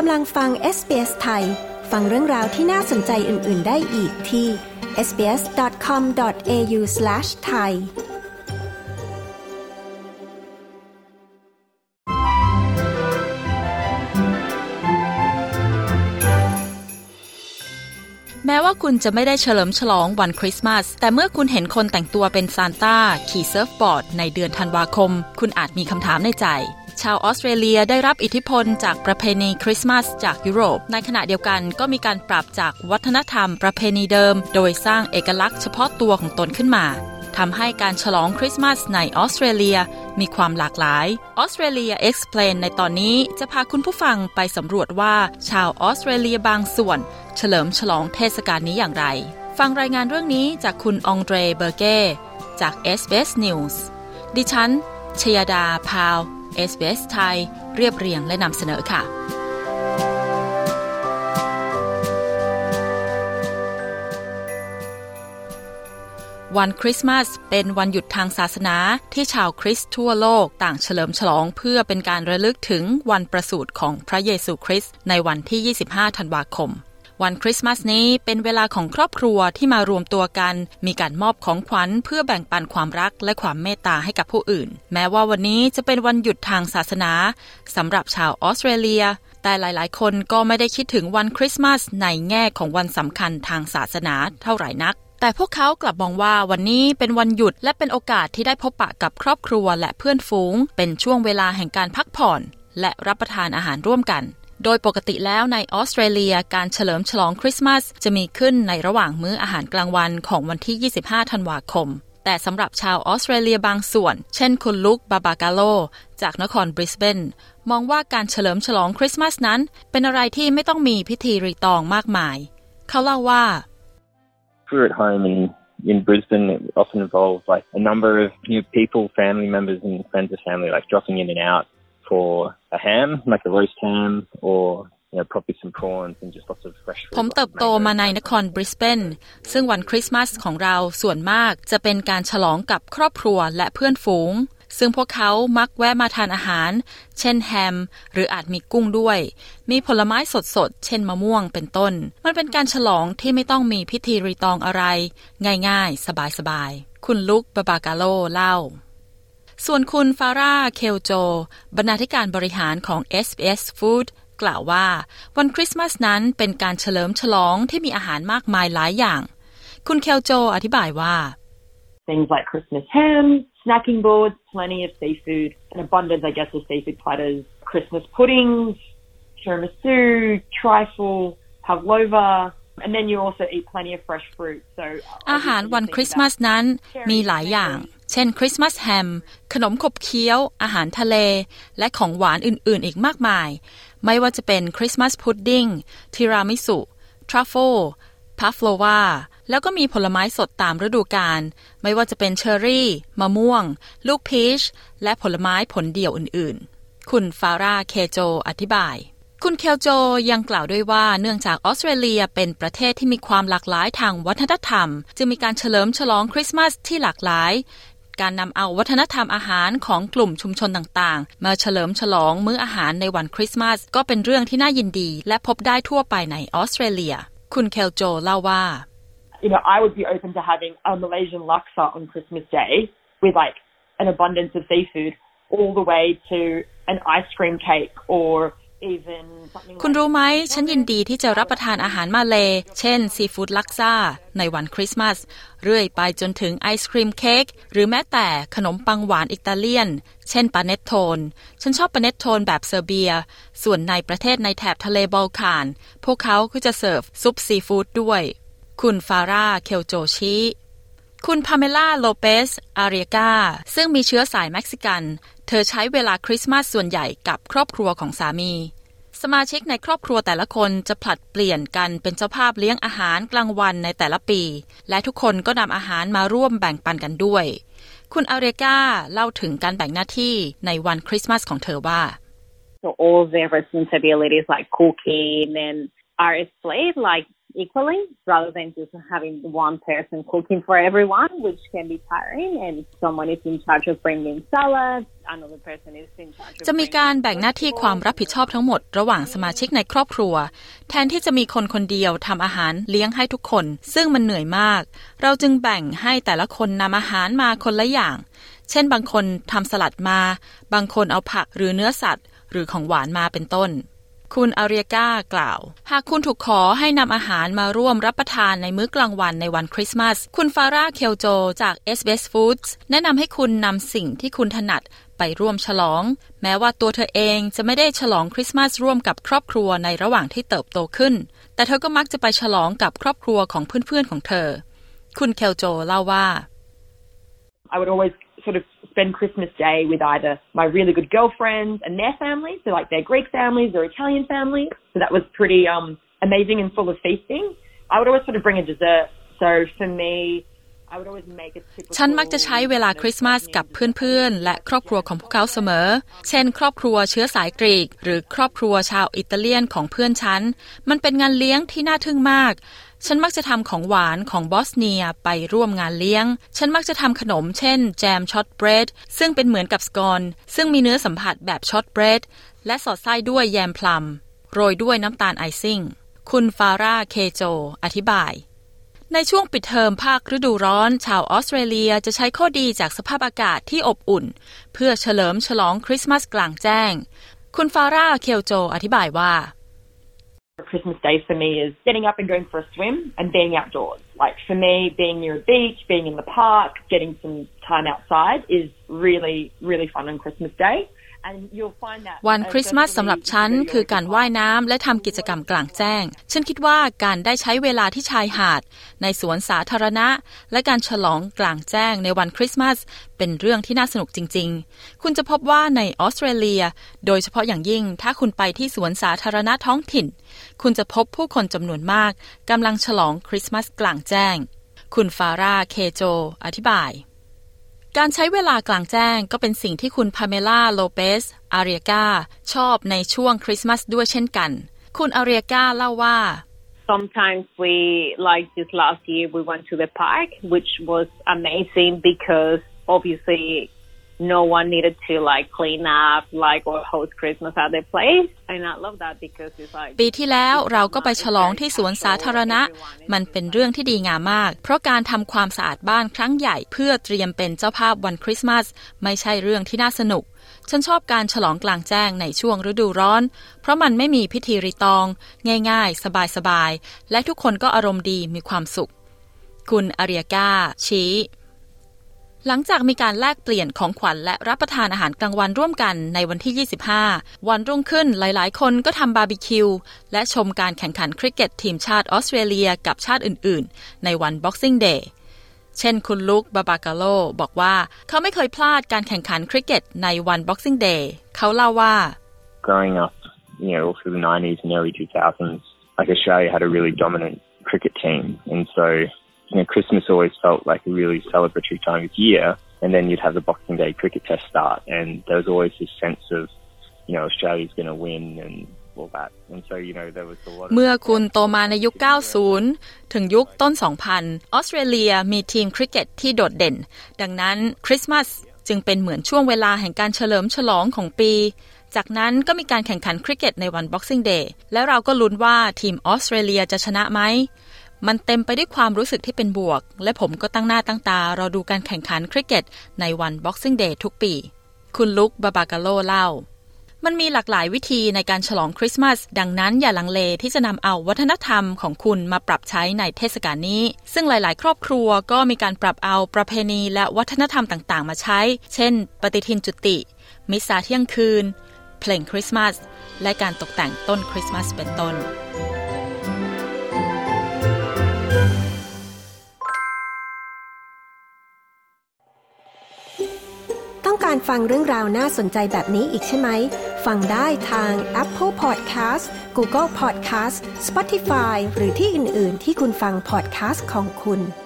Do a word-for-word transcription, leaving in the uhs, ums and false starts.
กำลังฟัง เอส บี เอส ไทยฟังเรื่องราวที่น่าสนใจอื่นๆได้อีกที่ เอส บี เอส ดอท คอม ดอท เอ ยู สแลช ไทยแม้ว่าคุณจะไม่ได้เฉลิมฉลองวันคริสต์มาสแต่เมื่อคุณเห็นคนแต่งตัวเป็นซานต้าขี่เซิร์ฟบอร์ดในเดือนธันวาคมคุณอาจมีคำถามในใจชาวออสเตรเลียได้รับอิทธิพลจากประเพณีคริสต์มาสจากยุโรปในขณะเดียวกันก็มีการปรับจากวัฒนธรรมประเพณีเดิมโดยสร้างเอกลักษณ์เฉพาะตัวของตนขึ้นมาทำให้การฉลองคริสต์มาสในออสเตรเลียมีความหลากหลาย Australia Explain ในตอนนี้จะพาคุณผู้ฟังไปสำรวจว่าชาวออสเตรเลียบางส่วนเฉลิมฉลองเทศกาลนี้อย่างไรฟังรายงานเรื่องนี้จากคุณองเดรเบอร์เก้จาก เอส บี เอส News ดิฉันชยดาพาว เอส บี เอส ไทยเรียบเรียงและนำเสนอค่ะวันคริสต์มาสเป็นวันหยุดทางศาสนาที่ชาวคริสต์ทั่วโลกต่างเฉลิมฉลองเพื่อเป็นการระลึกถึงวันประสูติของพระเยซูคริสต์ในวันที่ยี่สิบห้าธันวาคมวันคริสต์มาสนี้เป็นเวลาของครอบครัวที่มารวมตัวกันมีการมอบของขวัญเพื่อแบ่งปันความรักและความเมตตาให้กับผู้อื่นแม้ว่าวันนี้จะเป็นวันหยุดทางศาสนาสำหรับชาวออสเตรเลียแต่หลายๆคนก็ไม่ได้คิดถึงวันคริสต์มาสในแง่ของวันสำคัญทางศาสนาเท่าไหร่นักแต่พวกเขากลับมองว่าวันนี้เป็นวันหยุดและเป็นโอกาสที่ได้พบปะกับครอบครัวและเพื่อนฝูงเป็นช่วงเวลาแห่งการพักผ่อนและรับประทานอาหารร่วมกันโดยปกติแล้วในออสเตรเลียการเฉลิมฉลองคริสต์มาสจะมีขึ้นในระหว่างมื้ออาหารกลางวันของวันที่ยี่สิบห้าธันวาคมแต่สำหรับชาวออสเตรเลียบางส่วนเช่นคุณลุคบาบากาโลจากนครบริสเบนมองว่าการเฉลิมฉลองคริสต์มาสนั้นเป็นอะไรที่ไม่ต้องมีพิธีรีตองมากมายเขาเล่าว่า We're at home and in Brisbane, it often involves like a number of new people, family members and friends of family, like dropping in and out for a ham, like a roast ham, or you know, probably some prawns and just lots of fresh food. ผมเติบโตมาในนครบริสเบนซึ่งวันคริสต์มาสของเราส่วนมากจะเป็นการฉลองกับครอบครัวและเพื่อนฝูงซึ่งพวกเขามักแวะมาทานอาหารเช่นแฮมหรืออาจมีกุ้งด้วยมีผลไม้สดๆเช่นมะม่วงเป็นต้นมันเป็นการฉลองที่ไม่ต้องมีพิธีรีตองอะไรง่ายๆสบายๆคุณลุคบาบากาโลเล่าส่วนคุณฟาร่าเคลโจบรรณาธิการบริหารของ เอส บี เอส Food กล่าวว่าวันคริสต์มาสนั้นเป็นการเฉลิมฉลองที่มีอาหารมากมายหลายอย่างคุณเคลโจอธิบายว่า Things like Christmas ham, snacking boards, plenty of seafood, an abundance, I guess, of seafood platters, Christmas puddings, tiramisu, trifle, pavlova, and then you also eat plenty of fresh fruit. So อาหารวันคริสต์มาสนั้นมีหลายอย่างเช่นคริสต์มาสแฮมขนมขบเคี้ยวอาหารทะเลและของหวานอื่นๆอีกมากมายไม่ว่าจะเป็นคริสต์มาสพุดดิ้งทีรามิสุทรัฟเฟิลพาฟโลวาแล้วก็มีผลไม้สดตามฤดูกาลไม่ว่าจะเป็นเชอร์รี่มะม่วงลูกพีชและผลไม้ผลเดี่ยวอื่นๆคุณฟาร่าเคโจอธิบายคุณเคลโจยังกล่าวด้วยว่าเนื่องจากออสเตรเลียเป็นประเทศที่มีความหลากหลายทางวัฒนธรรมจึงมีการเฉลิมฉลองคริสต์มาสที่หลากหลายการนำเอาวัฒนธรรมอาหารของกลุ่มชุมชนต่างๆมาเฉลิมฉลองมื้ออาหารในวันคริสต์มาสก็เป็นเรื่องที่น่ายินดีและพบได้ทั่วไปในออสเตรเลียคุณเคลโจเล่าว่า You know, I would be open to having a Malaysian laksa on Christmas Day with like an abundance of seafood all the way to an ice cream cake or even something คุณรู้ไหมฉันยินดีที่จะรับประทานอาหารมาเลเช่นซีฟู้ดลักซ่าในวันคริสต์มาสเรื่อยไปจนถึงไอศครีมเค้กหรือแม้แต่ขนมปังหวานอิตาเลียนเช่นปาเนตโทนฉันชอบปาเนตโทนแบบเซอร์เบียส่วนในประเทศในแถบทะเลบัลคานพวกเขาก็จะเสิร์ฟซุปซีฟู้ดด้วยคุณฟาร่าเคลโจชิคุณพาเมล่าโลเปสอาเรียกาซึ่งมีเชื้อสายเม็กซิกันเธอใช้เวลาคริสต์มาสส่วนใหญ่กับครอบครัวของสามีสมาชิกในครอบครัวแต่ละคนจะผลัดเปลี่ยนกันเป็นเจ้าภาพเลี้ยงอาหารกลางวันในแต่ละปีและทุกคนก็นำอาหารมาร่วมแบ่งปันกันด้วยคุณอาเรียกาเล่าถึงการแบ่งหน้าที่ในวันคริสต์มาสของเธอว่า So all their responsibilities like cooking and are split like equally rather than just having one person cooking for everyone, which can be tiring, and someone is in charge of bringing salad, another person is in charge of จะมีการแบ่งหน้าที่ความรับผิดชอบทั้งหมดระหว่างสมาชิกในครอบครัวแทนที่จะมีคนคนเดียวทำอาหารเลี้ยงให้ทุกคนซึ่งมันเหนื่อยมากเราจึงแบ่งให้แต่ละคนนำอาหารมาคนละอย่างเช่นบางคนทำสลัดมาบางคนเอาผักหรือเนื้อสัตว์หรือของหวานมาเป็นต้นคุณอาเรียก้ากล่าวหากคุณถูกขอให้นำอาหารมาร่วมรับประทานในมื้อกลางวันในวันคริสต์มาสคุณฟาร่าเคลโจจาก เอส บี เอส Foods แนะนำให้คุณนำสิ่งที่คุณถนัดไปร่วมฉลองแม้ว่าตัวเธอเองจะไม่ได้ฉลองคริสต์มาสร่วมกับครอบครัวในระหว่างที่เติบโตขึ้นแต่เธอก็มักจะไปฉลองกับครอบครัวของเพื่อนๆของเธอคุณเคลโจเล่าว่า I would always sort of spend Christmas Day with either my really good girlfriends and their families, so like their Greek families or Italian families. So that was pretty um, amazing and full of feasting. I would always sort of bring a dessert. So for me, I would always make a typical. ฉันมักจะใช้เวลาคริสต์มาสกับเพื่อนๆและครอบครัวของพวกเขาเสมอเช่นครอบครัวเชื้อสายกรีกหรือครอบครัวชาวอิตาเลียนของเพื่อนฉันมันเป็นงานเลี้ยงที่น่าทึ่งมากฉันมักจะทำของหวานของบอสเนียไปร่วมงานเลี้ยงฉันมักจะทำขนมเช่นแจมช็อตเบรดซึ่งเป็นเหมือนกับสกอนซึ่งมีเนื้อสัมผัสแบบช็อตเบรดและสอดไส้ด้วยแยมพลัมโรยด้วยน้ำตาลไอซิ่งคุณฟาร่าเคโจอธิบายในช่วงปิดเทอมภาคฤดูร้อนชาวออสเตรเลียจะใช้ข้อดีจากสภาพอากาศที่อบอุ่นเพื่อเฉลิมฉลองคริสต์มาสกลางแจ้งคุณฟาร่าเคลโจอธิบายว่า Christmas Day for me is getting up and going for a swim and being outdoors. Like for me, being near a beach, being in the park, getting some time outside is really, really fun on Christmas Day. And you'll find that วันคริสต์มาสสำหรับฉันคือการว่ายน้ำและทำกิจกรรมกลางแจ้งฉันคิดว่าการได้ใช้เวลาที่ชายหาดในสวนสาธารณะและการฉลองกลางแจ้งในวันคริสต์มาสเป็นเรื่องที่น่าสนุกจริงๆคุณจะพบว่าในออสเตรเลียโดยเฉพาะอย่างยิ่งถ้าคุณไปที่สวนสาธารณะท้องถิ่นคุณจะพบผู้คนจำนวนมากกำลังฉลองคริสต์มาสกลางแจ้งคุณฟาร่าเคโจอธิบายการใช้เวลากลางแจ้งก็เป็นสิ่งที่คุณพาเมล่าโลเปสอาเรียกาชอบในช่วงคริสต์มาสด้วยเช่นกันคุณอาเรียกาเล่าว่า Sometimes we like this last year we went to the park which was amazing because obviously no one needed to like clean up like or host Christmas at their place and I love that because it's like ปีที่แล้วเราก็ไปฉลองที่สวนสาธารณะมันเป็นเรื่องที่ดีงามมากเพราะการทำความสะอาดบ้านครั้งใหญ่เพื่อเตรียมเป็นเจ้าภาพวันคริสต์มาสไม่ใช่เรื่องที่น่าสนุกฉันชอบการฉลองกลางแจ้งในช่วงฤดูร้อนเพราะมันไม่มีพิธีรีตองง่ายๆสบายๆและทุกคนก็อารมณ์ดีมีความสุขคุณอาเรียกาชี้หลังจากมีการแลกเปลี่ยนของขวัญและรับประทานอาหารกลางวันร่วมกันในวันที่ยี่สิบห้าวันรุ่งขึ้นหลายๆคนก็ทำบาร์บีคิวและชมการแข่งขันคริกเก็ตทีมชาติออสเตรเลียกับชาติอื่นๆในวัน Boxing Day เช่นคุณลุคบาบากาโลบอกว่าเขาไม่เคยพลาดการแข่งขันคริกเก็ตในวัน Boxing Day เขาเล่าว่า Growing up, you know, all through the nineties and early two thousands, like Australia had a really dominant cricket team, and so.You know, Christmas always felt like a really celebratory time of year, and then you'd have the Boxing Day cricket test start, and there was always this sense of, you know, Australia's going to win and all that. And so, you know, there was a lot of เมื่อคุณโตมาในยุค เก้าสิบ ถึงยุคต้น สองพัน ออสเตรเลียมีทีมคริกเก็ตที่โดดเด่นดังนั้นคริสต์มาสจึงเป็นเหมือนช่วงเวลาแห่งการเฉลิมฉลองของปีจากนั้นก็มีการแข่งขันคริกเก็ตในวัน Boxing Day และเราก็ลุ้นว่าทีมออสเตรเลียจะชนะไหมมันเต็มไปด้วยความรู้สึกที่เป็นบวกและผมก็ตั้งหน้าตั้งตารอดูการแข่งขันคริกเก็ตในวัน Boxing Day ทุกปีคุณลุคบาบากาโลเล่ามันมีหลากหลายวิธีในการฉลองคริสต์มาสดังนั้นอย่าลังเลที่จะนำเอาวัฒนธรรมของคุณมาปรับใช้ในเทศกาลนี้ซึ่งหลายๆครอบครัวก็มีการปรับเอาประเพณีและวัฒนธรรมต่างๆมาใช้เช่นปฏิทินจุติมิสซาเที่ยงคืนเพลงคริสต์มาสและการตกแต่งต้นคริสต์มาสเป็นต้นต้องการฟังเรื่องราวน่าสนใจแบบนี้อีกใช่ไหมฟังได้ทาง Apple Podcast Google Podcast Spotify หรือที่อื่นๆที่คุณฟัง podcast ของคุณ